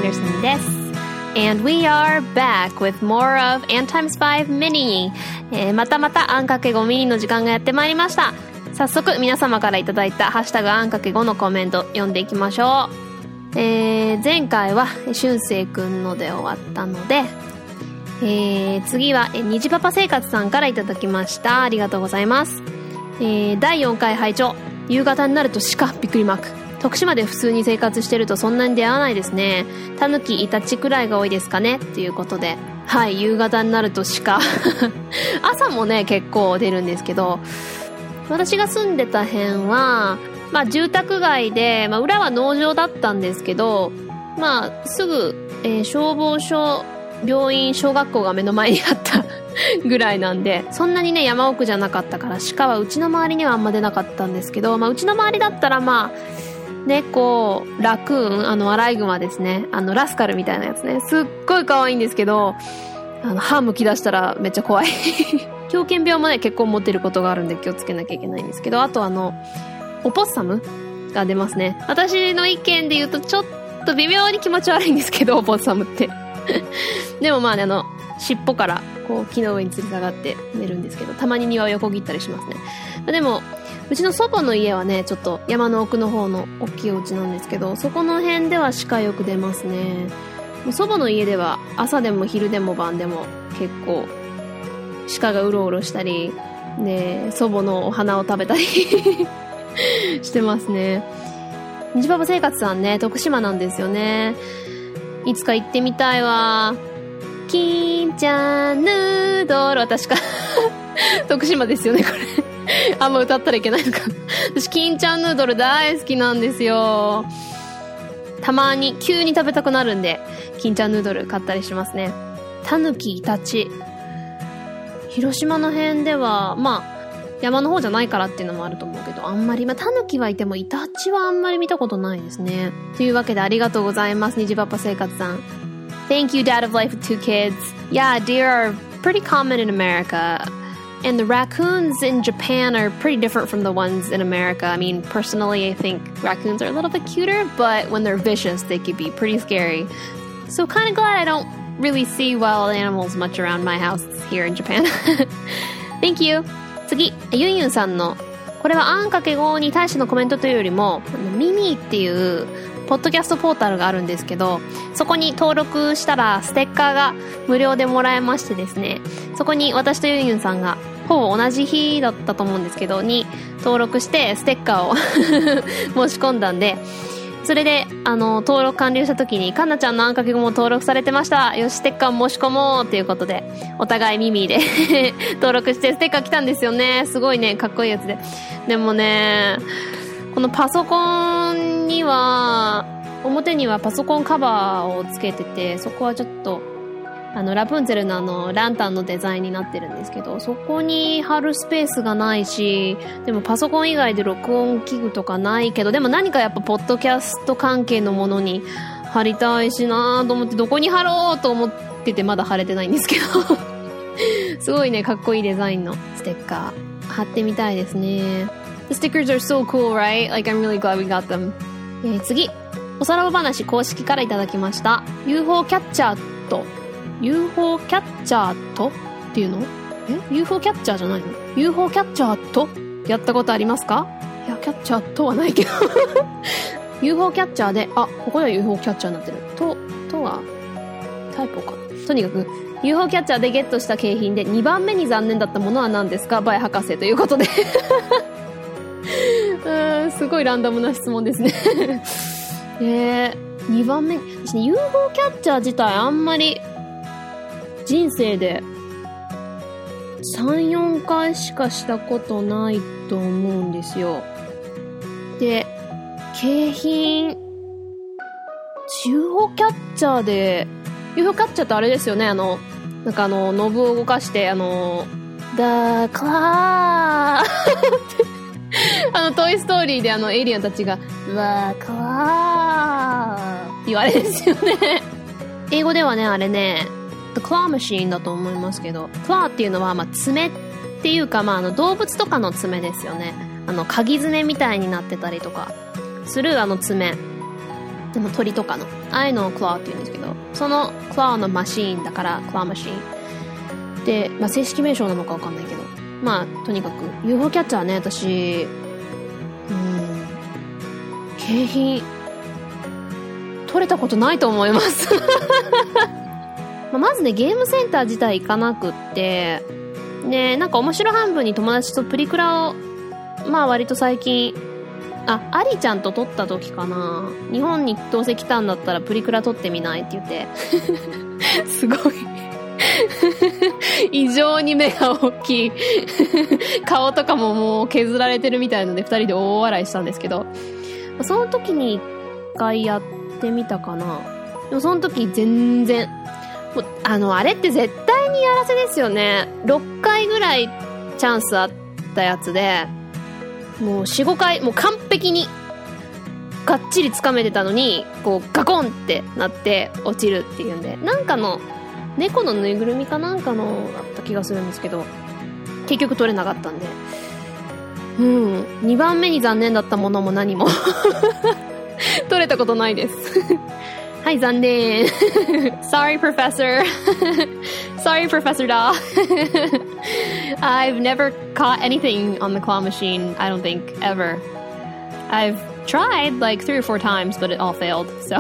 Anderson です。And we are back with more of N×5 Mini、またまたあんかけ5ミニの時間がやってまいりました。早速皆様からいただいたハッシュタグあんかけ5のコメント読んでいきましょう。前回はしゅんせいくんので終わったので、次はにじパパ生活さんからいただきました。ありがとうございます。第4回拝聴。夕方になると鹿びっくりマーク。徳島で普通に生活してるとそんなに出会わないですね。タヌキイタチくらいが多いですかねということで、はい、夕方になると鹿朝もね結構出るんですけど、私が住んでた辺はまあ住宅街で、まあ、裏は農場だったんですけど、まあすぐ、消防署、病院、小学校が目の前にあったぐらいなんで、そんなにね山奥じゃなかったから鹿はうちの周りにはあんま出なかったんですけど、まあうちの周りだったらまあ猫、ラクーン、アライグマですね。ラスカルみたいなやつね。すっごい可愛いんですけど、歯剥き出したらめっちゃ怖い。狂犬病もね、結構持ってることがあるんで気をつけなきゃいけないんですけど、あとオポッサムが出ますね。私の意見で言うとちょっと微妙に気持ち悪いんですけど、オポッサムって。でもまあね、尻尾からこう木の上に吊り下がって寝るんですけど、たまに庭を横切ったりしますね。でも、うちの祖母の家はねちょっと山の奥の方の大きいお家なんですけど、そこの辺では鹿よく出ますね。祖母の家では朝でも昼でも晩でも結構鹿がうろうろしたりで、祖母のお花を食べたりしてますね。にじパパ生活さんね、徳島なんですよね。いつか行ってみたいわ。金ちゃんヌードル、私か徳島ですよねこれあんま歌ったらいけないのか私金ちゃんヌードル大好きなんですよ。たまに急に食べたくなるんで金ちゃんヌードル買ったりしますね。タヌキイタチ、広島の辺ではまあ山の方じゃないからっていうのもあると思うけど、あんまりタヌキはいてもイタチはあんまり見たことないですね。というわけでありがとうございます、にじパパ生活さん。 Thank you Dad of Life with 2 kids. Yeah, deer are pretty common in America.And the raccoons in Japan are pretty different from the ones in America. I mean, personally, I think raccoons are a little bit cuter, but when they're vicious, they could be pretty scary. So kind of glad I don't really see wild animals much around my house here in Japan. Thank you. 次、ユンユンさんの、これはあんかけ5に対してのコメントというよりも、ミミっていうポッドキャストポータルがあるんですけど、そこに登録したらステッカーが無料でもらえましてですね、そこに私とユンユンさんがほぼ同じ日だったと思うんですけどに登録してステッカーを申し込んだんで、それで登録完了した時にカンナちゃんのあんかけ語も登録されてました、よしステッカー申し込もうっていうことでお互い耳で登録してステッカー来たんですよね。すごいねかっこいいやつで、でもねこのパソコンには表にはパソコンカバーをつけてて、そこはちょっとラプンツェルのランタンのデザインになってるんですけど、そこに貼るスペースがないし、でもパソコン以外で録音器具とかないけど、でも何かやっぱポッドキャスト関係のものに貼りたいしなと思って、どこに貼ろうと思っててまだ貼れてないんですけどすごいねかっこいいデザインのステッカー貼ってみたいですね。The stickers are so cool, right? Like I'm really glad we got them. 次、おさらば話公式からいただきました。 UFO キャッチャーと UFO キャッチャーとっていうのUFO キャッチャーじゃないの UFO キャッチャーとやったことありますか？いやキャッチャーとはないけどUFO キャッチャーで、ここでは UFO キャッチャーになってるとはタイプか。とにかく UFO キャッチャーでゲットした景品で2番目に残念だったものは何ですか？バイ博士ということですごいランダムな質問ですね2番目、私ね UFO キャッチャー自体あんまり人生で 3,4 回しかしたことないと思うんですよ。で、景品 UFO キャッチャーで UFO キャッチャーってあれですよね、なんかノブを動かしてThe Claw トイストーリーでエイリアンたちがうわーかわーって言われるんですよね英語ではねあれね The Claw Machine だと思いますけど、 Claw っていうのは爪っていうか動物とかの爪ですよね。鍵爪みたいになってたりとかする爪でも鳥とかのああいうのをクラーって言うんですけど、そのクラーのマシーンだからクラーマシーンで、正式名称なのかわかんないけど、とにかく UFO キャッチャーね、私景品取れたことないと思いますまずね、ゲームセンター自体行かなくって、ね、なんか面白半分に友達とプリクラを割と最近アリちゃんと撮った時かな、日本にどうせ来たんだったらプリクラ撮ってみないって言ってすごい異常に目が大きい顔とかももう削られてるみたいので2人で大笑いしたんですけど、その時に1回やってみたかな。でもその時全然もうあれって絶対にやらせですよね。6回ぐらいチャンスあったやつで、もう 4,5 回もう完璧にがっちり掴めてたのに、こうガコンってなって落ちるっていうんで、なんかの猫のぬいぐるみかなんかのだった気がするんですけど、結局取れなかったんで、2番目に残念だったものも何も取れたことないですはい、残念Sorry Professor Sorry Professor Da I've never caught anything on the claw machine, I don't think, ever. I've tried like 3 or 4 times, but it all failed, so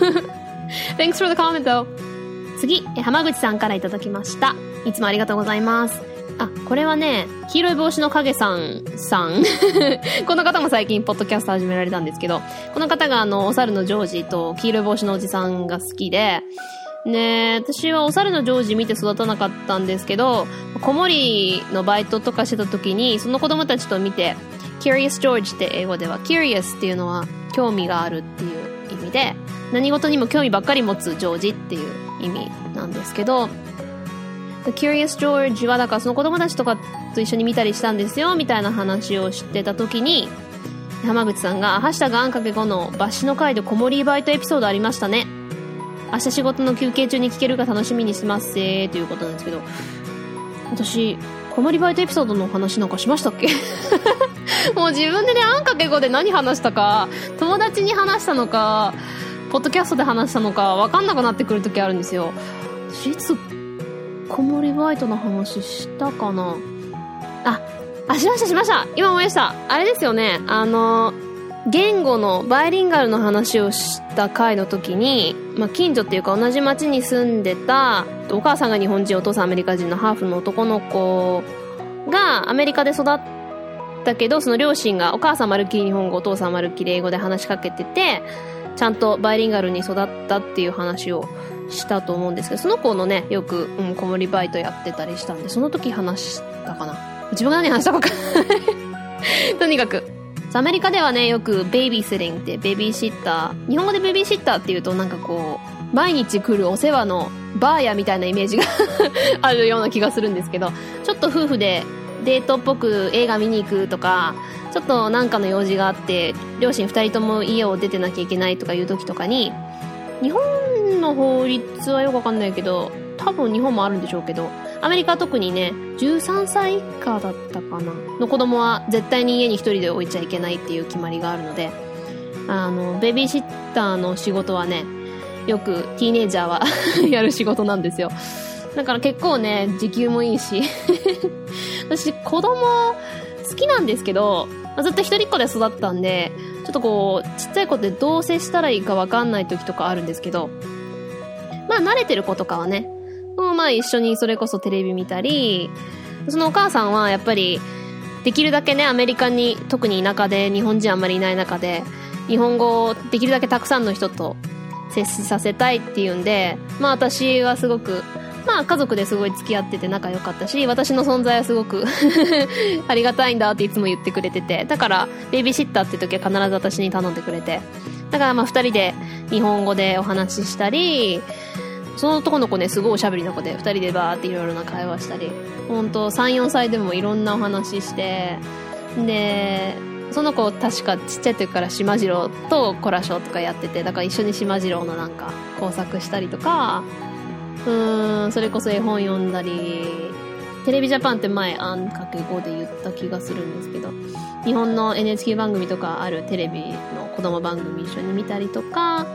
Thanks for the comment though. 次、浜口さんからいただきました。いつもありがとうございます。これはね、黄色い帽子の影さんこの方も最近ポッドキャスト始められたんですけど、この方がお猿のジョージと黄色い帽子のおじさんが好きで、ね、私はお猿のジョージ見て育たなかったんですけど、子守のバイトとかしてた時にその子供たちと見て、 Curious George って英語では Curious っていうのは興味があるっていう意味で、何事にも興味ばっかり持つジョージっていう意味なんですけど、The Curious George はだからその子供たちとかと一緒に見たりしたんですよみたいな話をしてた時に、浜口さんがハッシュタグあんかけ5のバッシュの回で子守バイトエピソードありましたね、明日仕事の休憩中に聞けるか楽しみにしてますぜということなんですけど、私子守バイトエピソードの話なんかしましたっけもう自分でね、あんかけ5で何話したか、友達に話したのかポッドキャストで話したのか分かんなくなってくる時あるんですよ。私いつ子守バイトの話したかな。しました今思い出した。あれですよね、言語のバイリンガルの話をした回の時に、近所っていうか同じ町に住んでたお母さんが日本人お父さんアメリカ人のハーフの男の子がアメリカで育ったけど、その両親がお母さんまるっきり日本語お父さんまるっきり英語で話しかけてて、ちゃんとバイリンガルに育ったっていう話をしたと思うんですけど、その子のねよく、子守バイトやってたりしたんで、その時話したかな。自分が何話したか分かんないとにかくアメリカではねよくベイビーシッティングってベビーシッター、日本語でベビーシッターっていうとなんかこう毎日来るお世話のバーヤみたいなイメージがあるような気がするんですけど、ちょっと夫婦でデートっぽく映画見に行くとか、ちょっとなんかの用事があって両親2人とも家を出てなきゃいけないとかいう時とかに、日本の法律はよくわかんないけど多分日本もあるんでしょうけど、アメリカは特にね13歳以下だったかなの子供は絶対に家に一人で置いちゃいけないっていう決まりがあるので、ベビーシッターの仕事はねよくティーネイジャーはやる仕事なんですよ。だから結構ね時給もいいし私子供好きなんですけど、ずっと一人っ子で育ったんで、ちょっとこうちっちゃい子ってどう接したらいいか分かんない時とかあるんですけど、慣れてる子とかはね一緒にそれこそテレビ見たり、そのお母さんはやっぱりできるだけねアメリカに特に田舎で日本人あんまりいない中で日本語をできるだけたくさんの人と接しさせたいっていうんで、私はすごく家族ですごい付き合ってて仲良かったし、私の存在はすごくありがたいんだっていつも言ってくれてて、だからベビーシッターって時は必ず私に頼んでくれて、だから2人で日本語でお話ししたり、その男の子ねすごいおしゃべりな子で2人でバーっていろいろな会話したり、ほんと 3,4 歳でもいろんなお話しして、でその子確かちっちゃい時からしまじろうとコラショとかやってて、だから一緒にしまじろうのなんか工作したりとか、それこそ絵本読んだり、テレビジャパンって前あんかけ5で言った気がするんですけど、日本の NHK 番組とかあるテレビの子供番組一緒に見たりとか、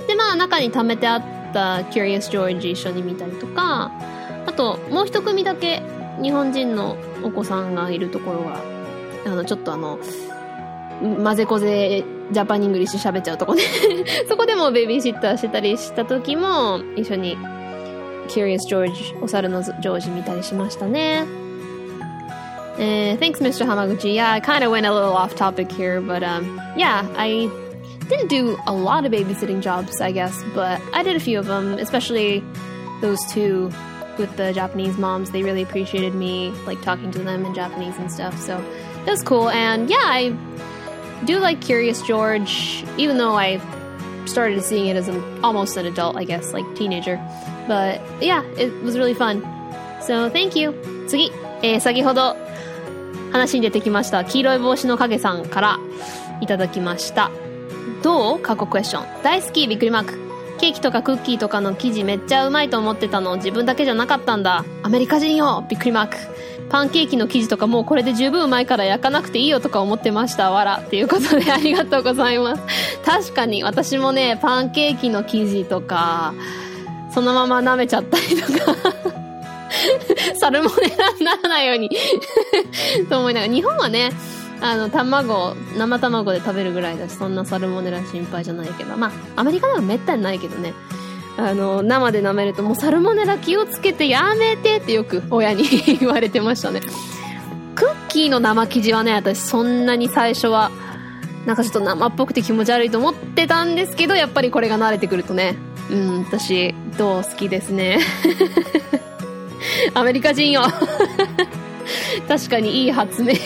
で、まあ中に貯めてあったCurious George一緒に見たりとか、あともう一組だけ日本人のお子さんがいるところが、ちょっと混ぜこぜジャパンイングリッシュ喋っちゃうとこねそこでもベビーシッターしてたりした時も一緒にCurious George お猿のジョージ見たりしましたね。Thanks, Mr. Hamaguchi. Yeah, I kind of went a little off topic here, but yeah, I didn't do a lot of babysitting jobs, I guess, but I did a few of them, especially those two with the Japanese moms. They really appreciated me like talking to them in Japanese and stuff, so it was cool. And yeah, I do like Curious George, even though I started seeing it as almost an adult, I guess, like teenager. But yeah, it was really fun. So thank you. 次、先ほど話に出てきました黄色い帽子の影さんからいただきました。どう？過去クエスチョン。大好きびっくりマーク。ケーキとかクッキーとかの生地めっちゃうまいと思ってたの自分だけじゃなかったんだ。アメリカ人よびっくりマーク。パンケーキの生地とかもうこれで十分うまいから焼かなくていいよとか思ってましたわらっていうことでありがとうございます。確かに私もねパンケーキの生地とかそのまま舐めちゃったりとかサルモネラにならないようにと思いながら、日本はね生卵で食べるぐらいだしそんなサルモネラ心配じゃないけど、まあアメリカではめったにないけどね、生で舐めるともうサルモネラ気をつけてやめてってよく親に言われてましたね。クッキーの生生地はね私そんなに最初はなんかちょっと生っぽくて気持ち悪いと思ってたんですけど、やっぱりこれが慣れてくるとね、私好きですねアメリカ人よ確かにいい発明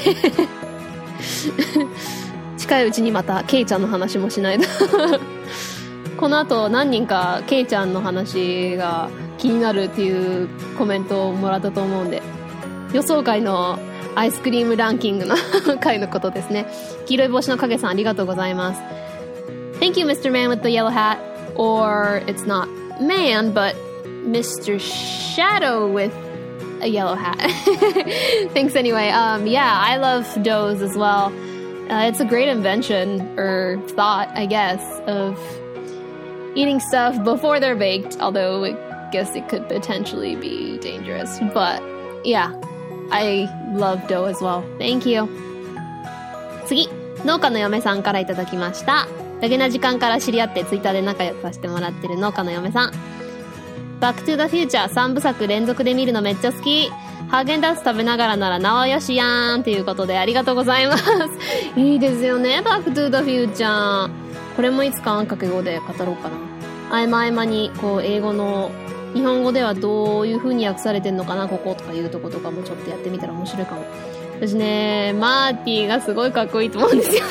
近いうちにまたケイちゃんの話もしないとこの後何人かケイちゃんの話が気になるっていうコメントをもらったと思うんで、予想外のアイスクリームランキングの回のことですね。黄色い帽子の影さんありがとうございます。 Thank you Mr. Man with the yellow hat, or it's not man but Mr. Shadow with a yellow hat thanks anyway. Yeah, I love doughs as well. It's a great invention or thought I guess of eating stuff before they're baked, although I guess it could potentially be dangerous, but yeah, I love dough as well. Thank you. 次、農家の嫁さんからいただきました。ダゲな時間から知り合ってツイッターで仲良くさせてもらってる農家の嫁さん。バックトゥザフューチャー3部作連続で見るのめっちゃ好き。ハーゲンダッツ食べながらならなおよしやーんということでありがとうございますいいですよねバックトゥザフューチャー。これもいつかあんかけ語で語ろうかな。合間にこう英語の日本語ではどういう風に訳されてんのかなこことかいうとことかもちょっとやってみたら面白いかも。私ねマーティがすごいかっこいいと思うんですよ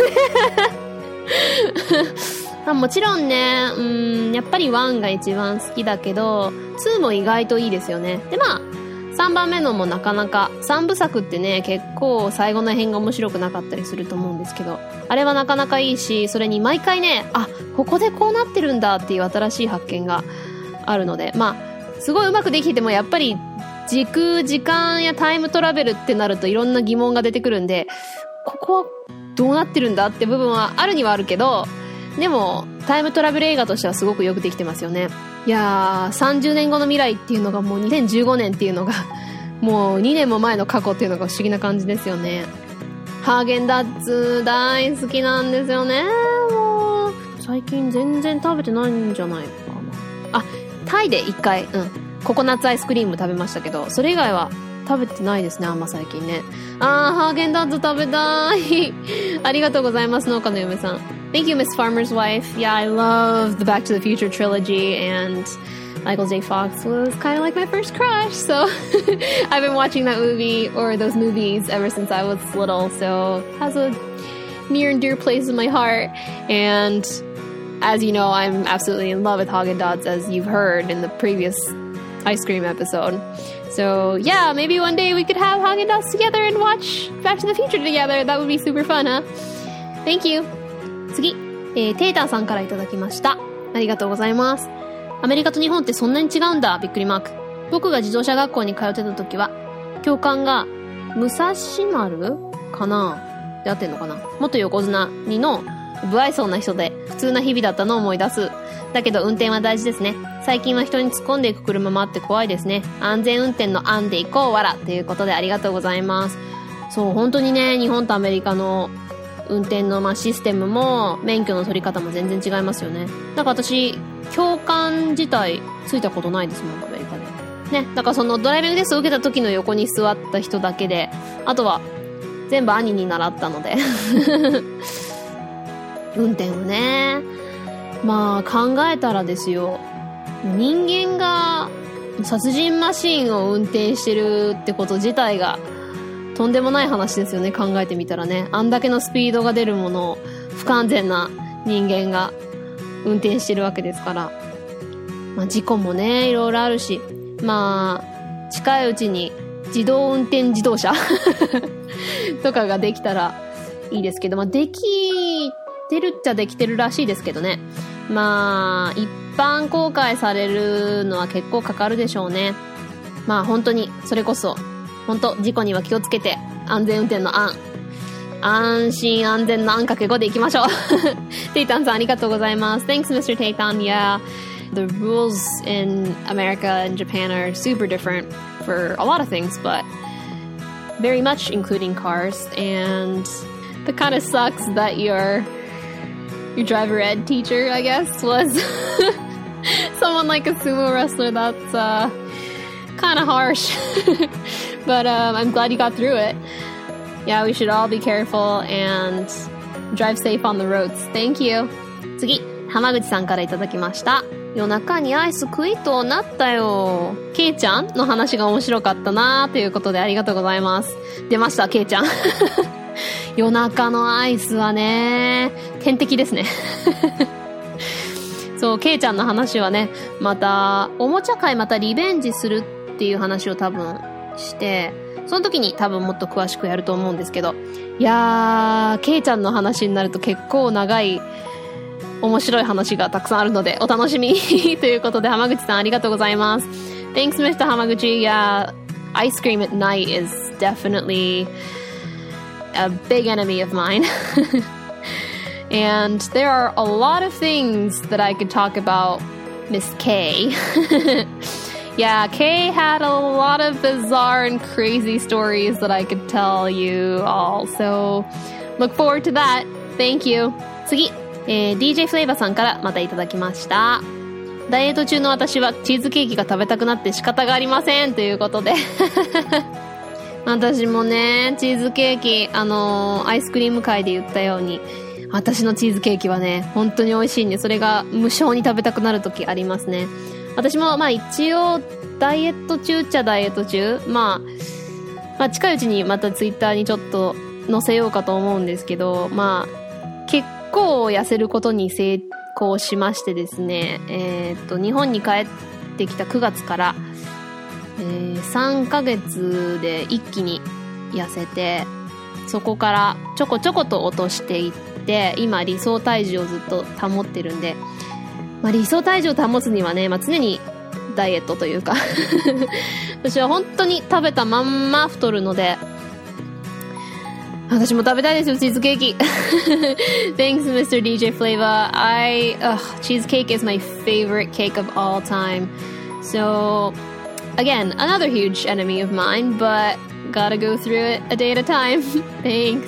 ねもちろんねやっぱり1が一番好きだけど2も意外といいですよね。でまあ3番目のもなかなか3部作ってね結構最後の辺が面白くなかったりすると思うんですけど、あれはなかなかいいし、それに毎回ねここでこうなってるんだっていう新しい発見があるので、まあすごいうまくできててもやっぱり時間やタイムトラベルってなるといろんな疑問が出てくるんで、ここはどうなってるんだって部分はあるにはあるけど、でもタイムトラベル映画としてはすごくよくできてますよね。いやー30年後の未来っていうのがもう2015年っていうのがもう2年も前の過去っていうのが不思議な感じですよね。ハーゲンダッツ大好きなんですよね。もう最近全然食べてないんじゃないかな。タイで1回ココナッツアイスクリーム食べましたけど、それ以外は食べてないですねあんま最近ね。ハーゲンダッツ食べたいありがとうございます農家の嫁さん。Thank you, Miss Farmer's Wife. Yeah, I love the Back to the Future trilogy, and Michael J. Fox was kind of like my first crush, so I've been watching that movie, or those movies, ever since I was little, so it has a near and dear place in my heart. And as you know, I'm absolutely in love with Haagen-Dazs, as you've heard in the previous ice cream episode. So yeah, maybe one day we could have Haagen-Dazs together and watch Back to the Future together. That would be super fun, huh? Thank you. 次、テーターさんからいただきました。ありがとうございます。アメリカと日本ってそんなに違うんだびっくりマーク。僕が自動車学校に通ってた時は教官が武蔵丸かなで合ってんのかな、元横綱2の不愛想な人で普通な日々だったのを思い出す。 だけど運転は大事ですね。最近は人に突っ込んでいく車もあって怖いですね。安全運転の案で行こうわらということでありがとうございます。そう、本当にね、日本とアメリカの運転のシステムも免許の取り方も全然違いますよね。なんか私、教官自体ついたことないですもん、アメリカで。ね、だからそのドライビングテストを受けた時の横に座った人だけで、あとは全部兄に習ったので。運転をね、まあ考えたらですよ、人間が殺人マシンを運転してるってこと自体がとんでもない話ですよね。考えてみたらね、あんだけのスピードが出るものを不完全な人間が運転してるわけですから、まあ事故もねいろいろあるし、まあ近いうちに自動運転自動車とかができたらいいですけど、まあできてるっちゃできてるらしいですけどね。まあ一般公開されるのは結構かかるでしょうね。まあ本当にそれこそ本当事故には気をつけて、安全運転の安心安全の×5でいきましょう。テイタンさんありがとうございます。 Thanks Mr. Teitan. Yeah, the rules in America and Japan are super different for a lot of things, but very much including cars. And that kind of sucks that your driver ed teacher, I guess, was someone like a sumo wrestler. That's kind of harsh. But I'm glad you got through it. Yeah, we should all be careful and drive safe on the roads. Thank you. 次、浜口さんからいただきました。夜中にアイス食いとなったよ。ケイちゃんの話が面白かったなということでありがとうございます。出ました、ケイちゃん。夜中のアイスはね、天敵ですね。そう、ケイちゃんの話はね、またおもちゃ界またリベンジするっていう話を多分して、その時に多分もっと詳しくやると思うんですけど、いやー、ケイちゃんの話になると結構長い面白い話がたくさんあるのでお楽しみにということで、浜口さんありがとうございます。 Thanks Mr. 浜口。 Yeah, ice cream at night is definitely a big enemy of mine. And there are a lot of things that I could talk about Miss K. Yeah, Kay had a lot of bizarre and crazy stories that I could tell you all. So, look forward to that. Thank you. 次、DJ フレイバーさんからまたいただきました。ダイエット中の私はチーズケーキが食べたくなって仕方がありませんということで。私もね、チーズケーキ、アイスクリーム界で言ったように、私のチーズケーキはね、本当に美味しいんで、それが無性に食べたくなる時ありますね。私もまあ一応ダイエット中っちゃダイエット中、まあ近いうちにまたツイッターにちょっと載せようかと思うんですけど、まあ結構痩せることに成功しましてですね、日本に帰ってきた9月から、3ヶ月で一気に痩せて、そこからちょこちょこと落としていって、今理想体重をずっと保ってるんで、まあ、理想体重を保つにはね、まあ、常にダイエットというか私は本当に食べたまんま太るので、私も食べたいですよ、チーズケーキ。Thanks Mr. DJ Flavor. Cheesecake is my favorite cake of all time. So again, another huge enemy of mine, but gotta go through it a day at a time. Thanks.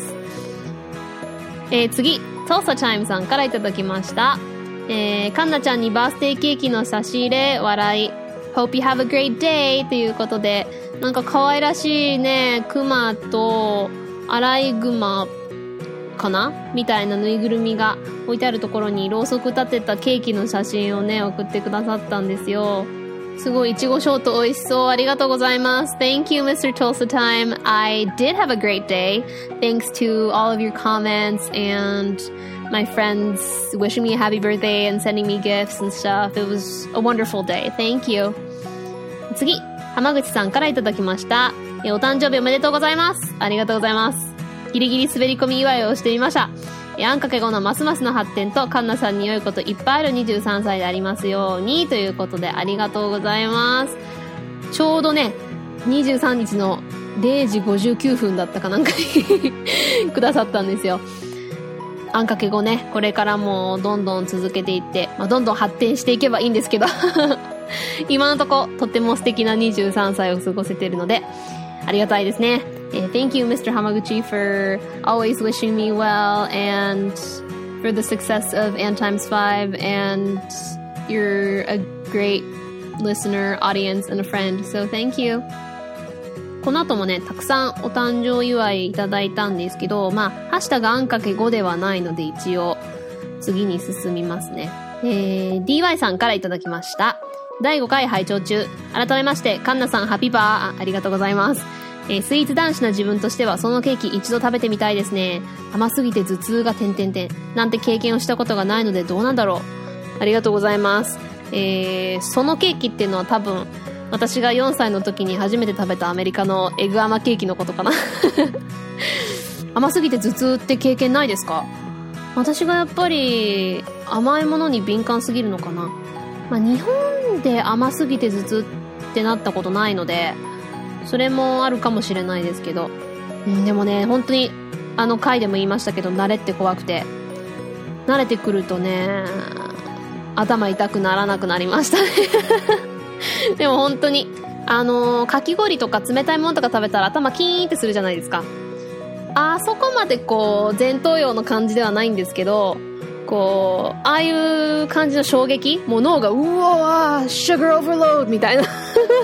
次、Tulsa Time さんからいただきました。カンナちゃんにバースデーケーキの差し入れ、笑い。Hope you have a great day ということで、なんか可愛らしいね、クマとアライグマかなみたいなぬいぐるみが置いてあるところにろうそく立てたケーキの写真をね、送ってくださったんですよ。すごいいちごショート美味しそう。ありがとうございます。 Thank you Mr. Tulsa Time. I did have a great day thanks to all of your comments and my friends wishing me a happy birthday and sending me gifts and stuff. It was a wonderful day. Thank you. 次、浜口さんからいただきました。お誕生日おめでとうございます。ありがとうございます。ギリギリ滑り込み祝いをしてみました。あんかけ5のますますの発展とカンナさんに良いこといっぱいある23歳でありますようにということで、ありがとうございます。ちょうどね、23日の0時59分だったかなんかにくださったんですよ。 あんかけ語ね、これからもどんどん続けていって、どんどん発展していけばいいんですけど今のとことっても素敵な23歳を過ごせているのでありがたいですね。Thank you, Mr. Hamaguchi, for always wishing me well and for the success of N times 5, and you're a great listener, audience, and a friend, so thank you. この後もね、たくさんお誕生祝いいただいたんですけど、ハッシュタグあんかけ5ではないので一応次に進みますね。DY さんからいただきました。第5回拝聴中。改めまして、カンナさんハッピーバー、ありがとうございます。スイーツ男子な自分としてはそのケーキ一度食べてみたいですね。甘すぎて頭痛がなんて経験をしたことがないのでどうなんだろう。ありがとうございます。そのケーキっていうのは多分私が4歳の時に初めて食べたアメリカのエグ甘ケーキのことかな甘すぎて頭痛って経験ないですか？私がやっぱり甘いものに敏感すぎるのかな。日本で甘すぎて頭痛ってなったことないのでそれもあるかもしれないですけど、でもね、本当に回でも言いましたけど、慣れって怖くて、慣れてくるとね、頭痛くならなくなりましたねでも本当にかき氷とか冷たいものとか食べたら頭キーンってするじゃないですか。あそこまで前頭葉の感じではないんですけど、ああいう感じの衝撃、もう脳がうわーシュガーオーバーロードみたいな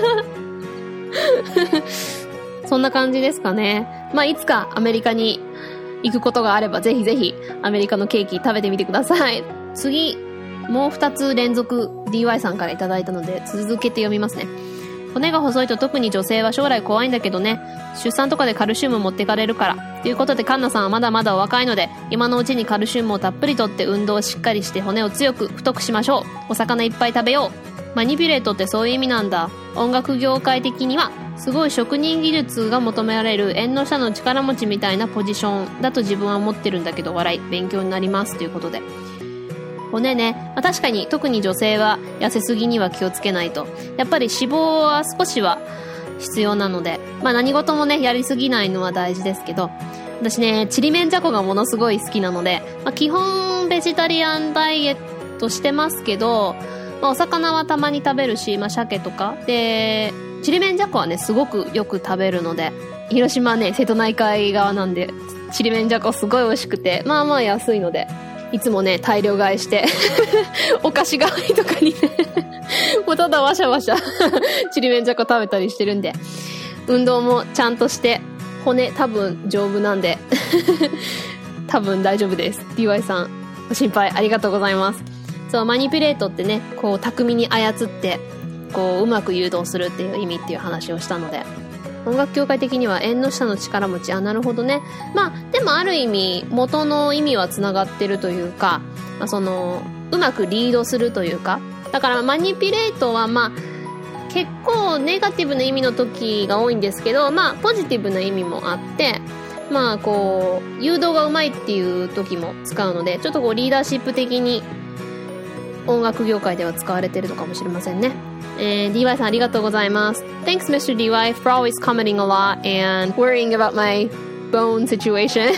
そんな感じですかね。いつかアメリカに行くことがあればぜひぜひアメリカのケーキ食べてみてください。次もう2つ連続 DY さんからいただいたので続けて読みますね。骨が細いと特に女性は将来怖いんだけどね、出産とかでカルシウム持ってかれるからということで、カンナさんはまだまだお若いので今のうちにカルシウムをたっぷりとって運動をしっかりして骨を強く太くしましょう。お魚いっぱい食べよう。マニピュレートってそういう意味なんだ。音楽業界的にはすごい職人技術が求められる縁の下の力持ちみたいなポジションだと自分は思ってるんだけど、笑い、勉強になりますということで、骨ね、確かに特に女性は痩せすぎには気をつけないと。やっぱり脂肪は少しは必要なので、何事もねやりすぎないのは大事ですけど、私ねちりめんじゃこがものすごい好きなので、基本ベジタリアンダイエットしてますけど、お魚はたまに食べるし、鮭とかで、ちりめんじゃこはねすごくよく食べるので、広島ね瀬戸内海側なんでちりめんじゃこすごい美味しくて、安いのでいつもね大量買いしてお菓子代わりとかにねもうただわしゃわしゃちりめんじゃこ食べたりしてるんで、運動もちゃんとして骨多分丈夫なんで多分大丈夫です。 DY さんご心配ありがとうございます。そう、マニピュレートってね巧みに操ってうまく誘導するっていう意味っていう話をしたので、音楽業界的には縁の下の力持ち。なるほどね。でもある意味元の意味はつながってるというか、うまくリードするというか、だからマニピュレートは結構ネガティブな意味の時が多いんですけど、ポジティブな意味もあって、誘導がうまいっていう時も使うので、ちょっとリーダーシップ的に音楽業界では使われてるのかもしれませんね。DY さんありがとうございます。 Thanks Mr. DY for always commenting a lot and worrying about my bone situation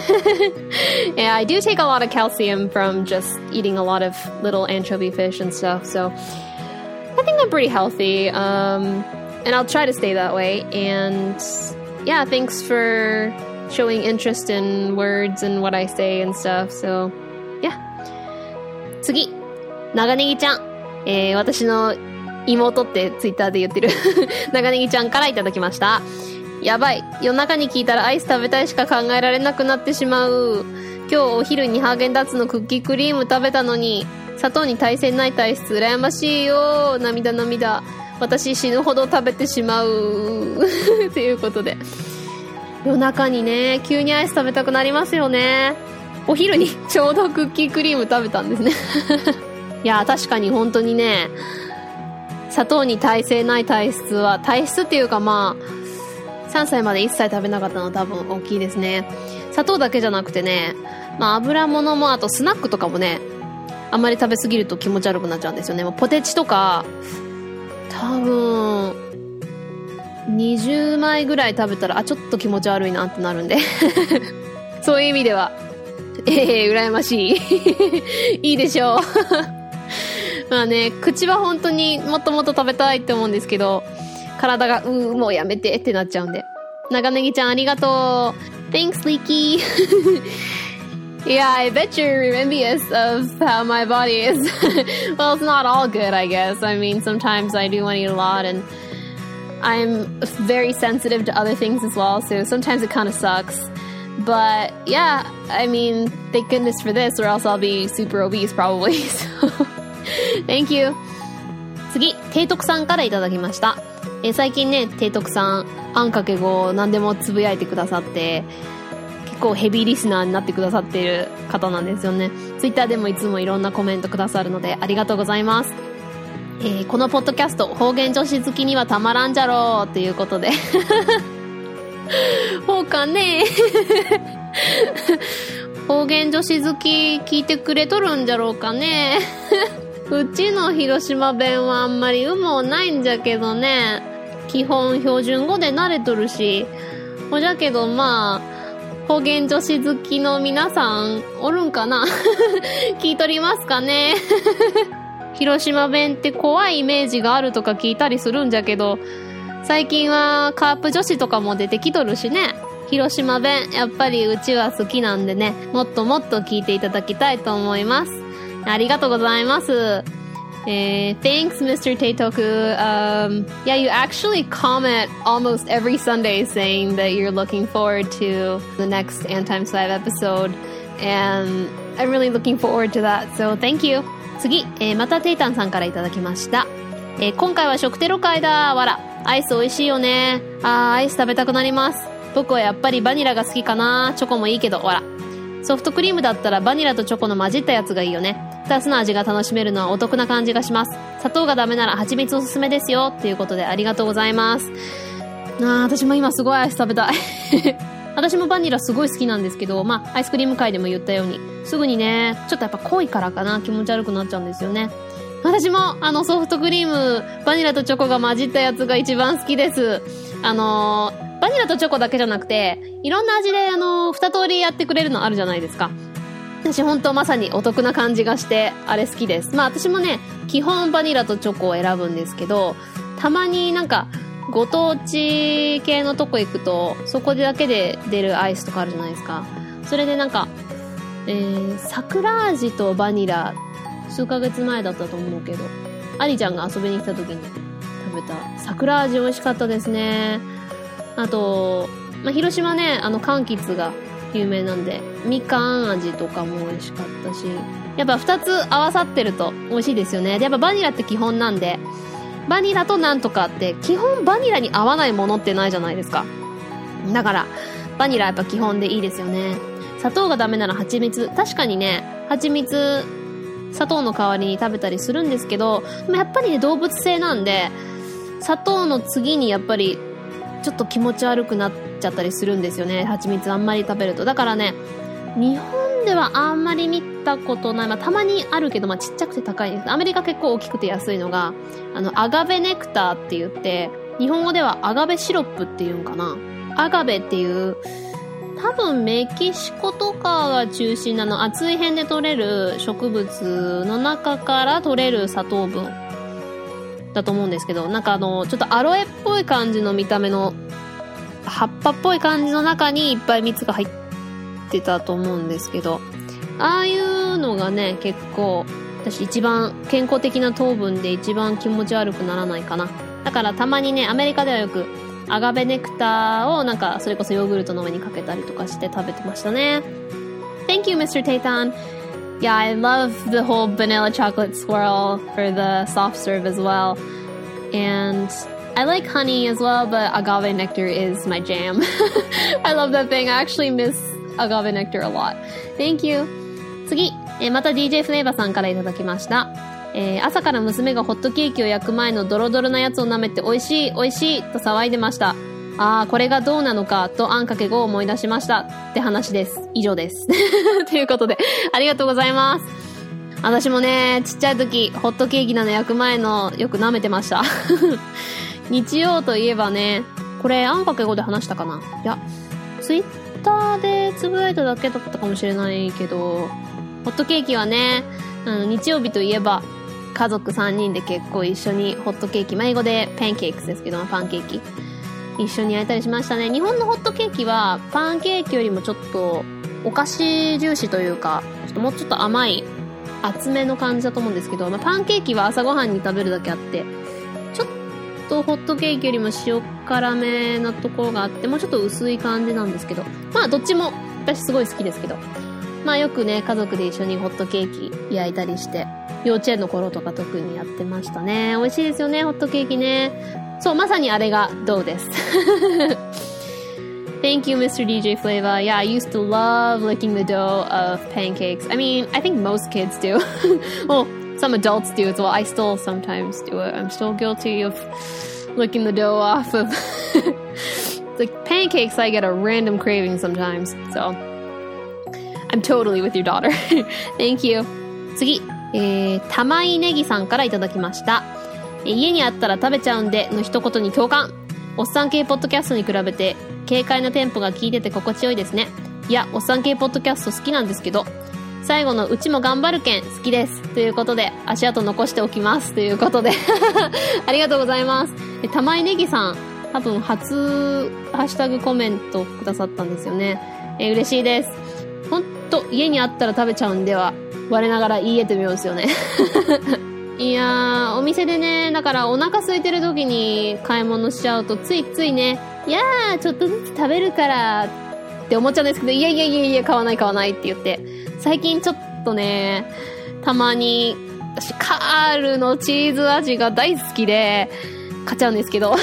yeah, I do take a lot of calcium from just eating a lot of little anchovy fish and stuff, so I think I'm pretty healthy, and I'll try to stay that way. And yeah, thanks for showing interest in words and what I say and stuff, so yeah. 次、長ネギちゃん、私の妹ってツイッターで言ってる長ネギちゃんからいただきました。やばい、夜中に聞いたらアイス食べたいしか考えられなくなってしまう。今日お昼にハーゲンダッツのクッキークリーム食べたのに砂糖に耐性ない体質、羨ましいよ。涙涙、私死ぬほど食べてしまうということで、夜中にね急にアイス食べたくなりますよね。お昼にちょうどクッキークリーム食べたんですねいや確かに本当にね、砂糖に耐性ない体質は、体質っていうか3歳まで一切食べなかったのは多分大きいですね。砂糖だけじゃなくてね、油物もあとスナックとかもね、あんまり食べ過ぎると気持ち悪くなっちゃうんですよね。ポテチとか多分20枚ぐらい食べたらちょっと気持ち悪いなってなるんでそういう意味では羨ましい。いいでしょう。まあね、口は本当にもっともっと食べたいって思うんですけど、体が、もうやめてってなっちゃうんで。長ネギちゃんありがとう。Thanks, Leaky. Yeah, I bet you're envious of how my body is. Well, it's not all good, I guess. I mean, sometimes I do want to eat a lot, and I'm very sensitive to other things as well, so sometimes it kind of sucks. But yeah, I mean, thank goodness for this, or else I'll be super obese probably. So, thank you. 次、提督さんからいただきました。最近ね、提督さん、あんかけ語何でもつぶやいてくださって、結構ヘビーリスナーになってくださっている方なんですよね。ツイッターでもいつもいろんなコメントくださるのでありがとうございます。このポッドキャスト、方言女子好きにはたまらんじゃろうということで。ほうかね。方言女子好き聞いてくれとるんじゃろうかね。うちの広島弁はあんまりもないんじゃけどね。基本標準語で慣れとるし。ほじゃけどまあ、方言女子好きの皆さんおるんかな。聞いとりますかね。広島弁って怖いイメージがあるとか聞いたりするんじゃけど、最近はカープ女子とかも出てきとるしね。広島弁やっぱりうちは好きなんでね、もっともっと聞いていただきたいと思います。ありがとうございます。Thanks, Mr. Teitoku. Yeah, you actually comment almost every Sunday saying that you're looking forward to the next Antimes 5 episode, and I'm really looking forward to that. So thank you. 次、またテイタンさんからいただきました。今回は食テロ会だ。わら。アイス美味しいよね。アイス食べたくなります。僕はやっぱりバニラが好きかな。チョコもいいけど、わら。ソフトクリームだったらバニラとチョコの混じったやつがいいよね。2つの味が楽しめるのはお得な感じがします。砂糖がダメなら蜂蜜おすすめですよ。ということでありがとうございます。私も今すごいアイス食べたい。私もバニラすごい好きなんですけど、まあ、アイスクリーム界でも言ったように、すぐにね、ちょっとやっぱ濃いからかな、気持ち悪くなっちゃうんですよね。私も、ソフトクリーム、バニラとチョコが混じったやつが一番好きです。バニラとチョコだけじゃなくて、いろんな味で、二通りやってくれるのあるじゃないですか。私本当まさにお得な感じがして、あれ好きです。まあ私もね、基本バニラとチョコを選ぶんですけど、たまになんか、ご当地系のとこ行くと、そこだけで出るアイスとかあるじゃないですか。それでなんか、桜味とバニラ、数ヶ月前だったと思うけど、アリちゃんが遊びに来た時に食べた桜味美味しかったですね。あと、まあ、広島ね、柑橘が有名なんで、みかん味とかも美味しかったし、やっぱ2つ合わさってると美味しいですよね。で、やっぱバニラって基本なんで、バニラとなんとかって基本バニラに合わないものってないじゃないですか。だからバニラやっぱ基本でいいですよね。砂糖がダメなら蜂蜜、確かにね、蜂蜜砂糖の代わりに食べたりするんですけど、でもやっぱりね、動物性なんで砂糖の次にやっぱりちょっと気持ち悪くなっちゃったりするんですよね、蜂蜜あんまり食べると。だからね、日本ではあんまり見たことない、まあたまにあるけど、まあちっちゃくて高いです。アメリカ結構大きくて安いのがアガベネクターって言って、日本語ではアガベシロップっていうんかな。アガベっていう多分メキシコとかが中心なの、暑い辺で採れる植物の中から採れる砂糖分だと思うんですけど、なんかちょっとアロエっぽい感じの見た目の葉っぱっぽい感じの中にいっぱい蜜が入ってたと思うんですけど、ああいうのがね、結構私一番健康的な糖分で一番気持ち悪くならないかな。だからたまにね、アメリカではよくアガベネクターをなんかそれこそヨーグルトの上にかけたりとかして食べてましたね。 Thank you, Mr. Teitan. Yeah, I love the whole vanilla chocolate swirl for the soft serve as well. And I like honey as well, but agave nectar is my jam. I love that thing. I actually miss agave nectar a lot. Thank you. 次、また DJ フレーバーさんからいただきました。朝から娘がホットケーキを焼く前のドロドロなやつを舐めて美味しい美味しいと騒いでました。ああ、これがどうなのかとあんかけ5を思い出しましたって話です。以上です。ということで、ありがとうございます。私もね、ちっちゃい時、ホットケーキなの焼く前のよく舐めてました。日曜といえばね、これあんかけ5で話したかな？いや、 ツイッターでつぶやいただけだったかもしれないけど、ホットケーキはね、日曜日といえば家族3人で結構一緒にホットケーキ、英語でパンケーキですけど、パンケーキ一緒に焼いたりしましたね。日本のホットケーキはパンケーキよりもちょっとお菓子重視というか、もうちょっと甘い厚めの感じだと思うんですけど、パンケーキは朝ごはんに食べるだけあって、ちょっとホットケーキよりも塩辛めなところがあって、もうちょっと薄い感じなんですけど、どっちも私すごい好きですけど、よくね家族で一緒にホットケーキ焼いたりして、幼稚園の頃とか特にやってましたね。美味しいですよね、ホットケーキね。そう、まさにあれがどうです。Thank you, Mr. DJ Flavor. Yeah, I used to love licking the dough of pancakes. I mean, I think most kids do. Well, some adults do as well. I still sometimes do it. I'm still guilty of licking the dough off of like pancakes. I get a random craving sometimes. So, I'm totally with your daughter. Thank you. 次、玉井ネギさんからいただきました。家にあったら食べちゃうんでの一言に共感。おっさん系ポッドキャストに比べて軽快なテンポが効いてて心地よいですね。いや、おっさん系ポッドキャスト好きなんですけど、最後のうちも頑張るけん好きですということで、足跡残しておきますということでありがとうございます。玉井ネギさん、多分初ハッシュタグコメントくださったんですよね。嬉しいです。ほんと家にあったら食べちゃうんでは我ながら言い得てみようですよねいやー、お店でね、だからお腹空いてる時に買い物しちゃうとついついね、いやーちょっとずつ食べるからって思っちゃうんですけど、いや買わないって言って、最近ちょっとね、たまに私カールのチーズ味が大好きで買っちゃうんですけど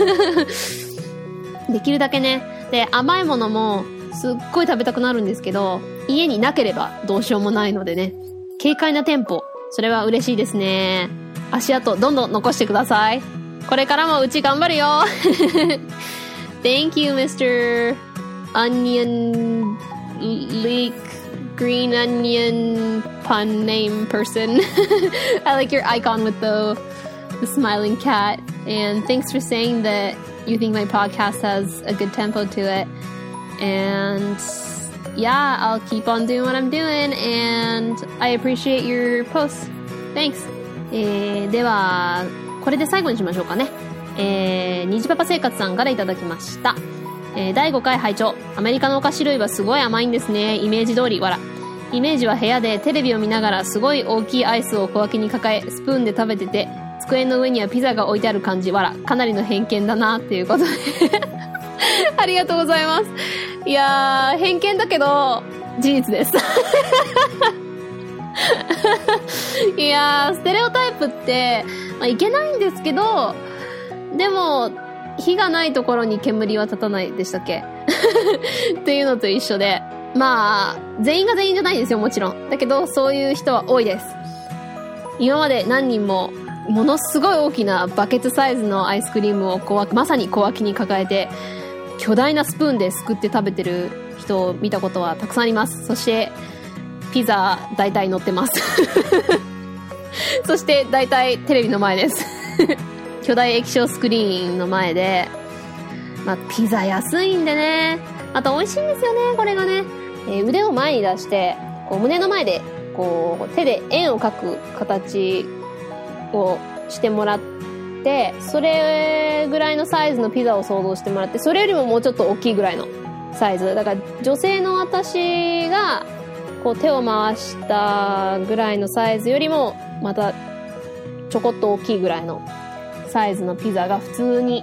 できるだけね、で甘いものもすっごい食べたくなるんですけど、家になければどうしようもないのでね、軽快なテンポ、それは嬉しいですね。足跡どんどん残してください。これからもうち頑張るよThank you, Mr. Onion Leek Green Onion Pun Name Person I like your icon with the smiling cat, and thanks for saying that you think my podcast has a good tempo to it. And yeah, I'll keep on doing what I'm doing, and I appreciate your posts. Thanks. ではこれで最後にしましょうかね。虹パパ生活さんからいただきました。第5回拝聴。アメリカのお菓子類はすごい甘いんですね。イメージ通り。わら。イメージは部屋でテレビを見ながらすごい大きいアイスを小分けに抱えスプーンで食べてて、机の上にはピザが置いてある感じ。わら。かなりの偏見だなっていうことでありがとうございます。いやー、偏見だけど事実ですいやー、ステレオタイプって、いけないんですけど、でも火がないところに煙は立たないでしたっけっていうのと一緒で、全員が全員じゃないんですよ、もちろん。だけどそういう人は多いです。今まで何人もものすごい大きなバケツサイズのアイスクリームをまさに小脇に抱えて巨大なスプーンですくって食べてる人を見たことはたくさんあります。そしてピザ大体乗ってますそして大体テレビの前です巨大液晶スクリーンの前で、ピザ安いんでね、また美味しいんですよね、これがね。腕を前に出してこう胸の前でこう手で円を描く形をしてもらって、それぐらいのサイズのピザを想像してもらって、それよりももうちょっと大きいぐらいのサイズだから、女性の私がこう手を回したぐらいのサイズよりもまたちょこっと大きいぐらいのサイズのピザが普通に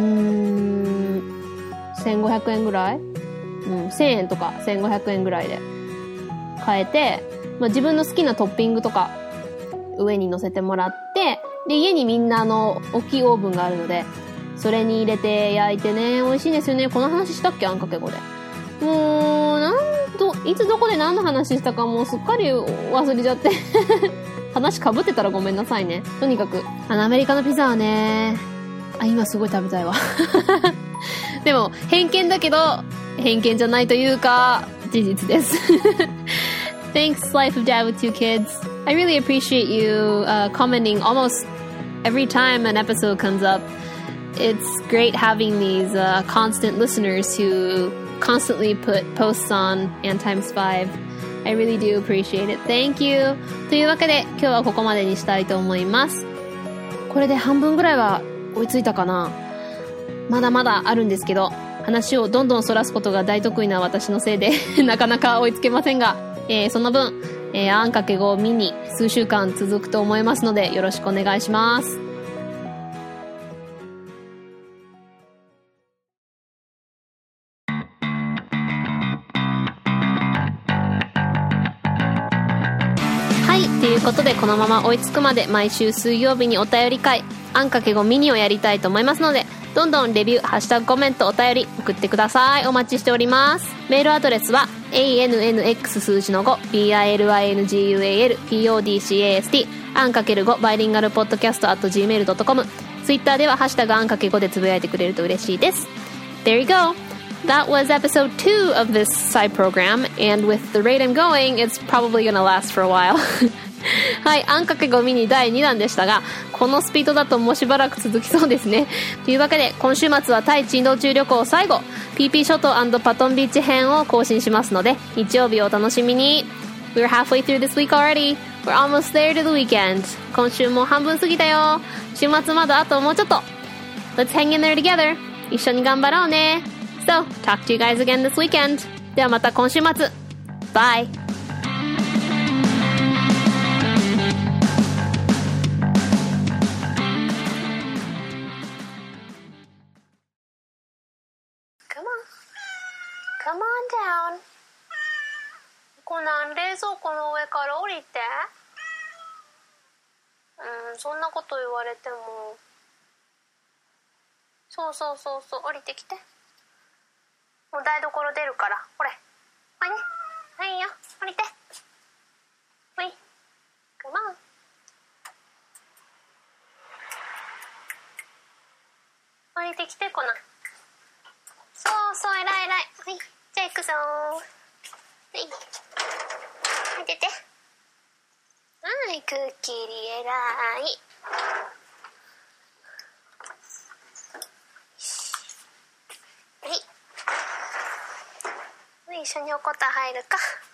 1500円ぐらい、1000円とか1500円ぐらいで買えて、自分の好きなトッピングとか上に乗せてもらって、で家にみんな大きいオーブンがあるのでそれに入れて焼いてね、美味しいですよね。この話したっけ、あんかけ語で。もういつどこで何の話したかもうすっかり忘れちゃって話被ってたらごめんなさいね。とにかくアメリカのピザはね、今すごい食べたいわでも偏見だけど偏見じゃないというか事実ですThanks, Life of Dad with Two Kids. I really appreciate you commenting almost every time an episode comes up. it's great having these constant listeners who constantly put posts on AntTimes5. I really do appreciate it. Thank you. というわけで今日はここまでにしたいと思います。これで半分ぐらいは追いついたかな。まだまだあるんですけど、話をどんどんそらすことが大得意な私のせいでなかなか追いつけませんが、その分、あんかけ5ミニ数週間続くと思いますのでよろしくお願いします。はい、ということでこのまま追いつくまで毎週水曜日にお便り会あんかけ5ミニをやりたいと思いますので、どんどんレビュー、ハッシュタグコメント、お便り送ってください。お待ちしております。メールアドレスは ANNX 数字の5 BILINGUAL PODCAST あんかける5バイリンガルポッドキャスト @gmail.com。 ツイッターではハッシュタグあんかけ5でつぶやいてくれると嬉しいです。 There you go. That was episode 2 of this side program, and with the rate I'm going, it's probably gonna last for a while. はい、あんかけ5ミニ第2弾でしたが、このスピードだともうしばらく続きそうですね。というわけで今週末はタイ珍道中旅行最後 PP 諸島&パトンビーチ編を更新しますので、日曜日をお楽しみに。 We're halfway through this week already. We're almost there to the weekend. 今週も半分過ぎたよ。週末まだあともうちょっと。 Let's hang in there together. 一緒に頑張ろうね。So, talk to you guys again this weekend. ではまた今週末。Bye. コナン、冷蔵庫の上から降りて。そんなこと言われても。そう、降りてきて。もう台所出るから、ほれ。はいね。はいよ、降りて。ほい。カモン。降りてきて、コナン。そう、偉い。はい、じゃあ行くぞー。はい。はい、出て。はい、クッキーリ偉い。はい。一緒におこた入るか。